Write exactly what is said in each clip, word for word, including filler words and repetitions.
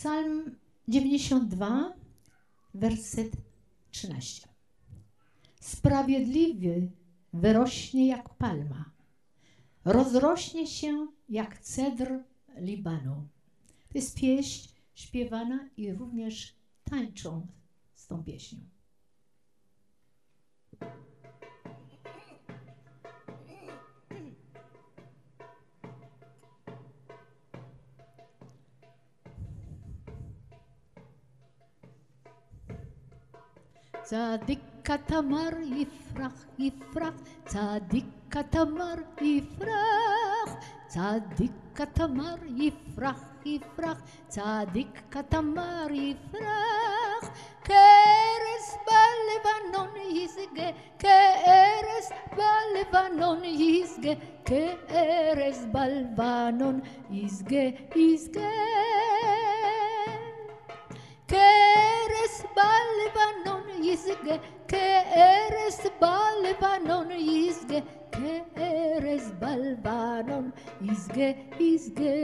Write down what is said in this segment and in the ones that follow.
Psalm dziewięćdziesiąt dwa, werset trzynaście. Sprawiedliwy wyrośnie jak palma, rozrośnie się jak cedr Libanu. To jest pieśń śpiewana i również tańczą z tą pieśnią. צדיק תמר יפרח יפרח, צדיק תמר יפרח, צדיק תמר יפרח יפרח, צדיק תמר יפרח, כארז בלבנון ישגה, כארז בלבנון ישגה, כארז בלבנון ישגה ישגה, כארז בלבנון ישגה, כארז בלבנון ישגה, כארז בלבנון ישגה ישגה.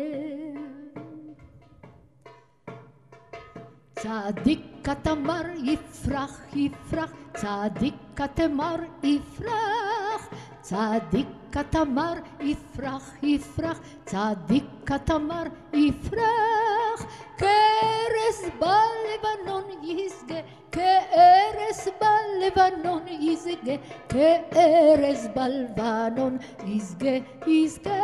צדיק תמר יפרח יפרח, צדיק תמר יפרח, צדיק תמר יפרח יפרח, צדיק תמר יפרח, כארז בלבנון ישגה, כארז בלבנון ישגה, כארז בלבנון ישגה ישגה,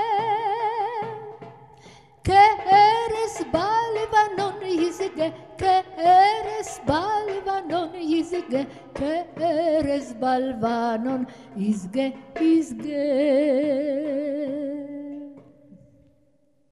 כארז בלבנון ישגה, כארז בלבנון ישגה, כארז בלבנון ישגה ישגה.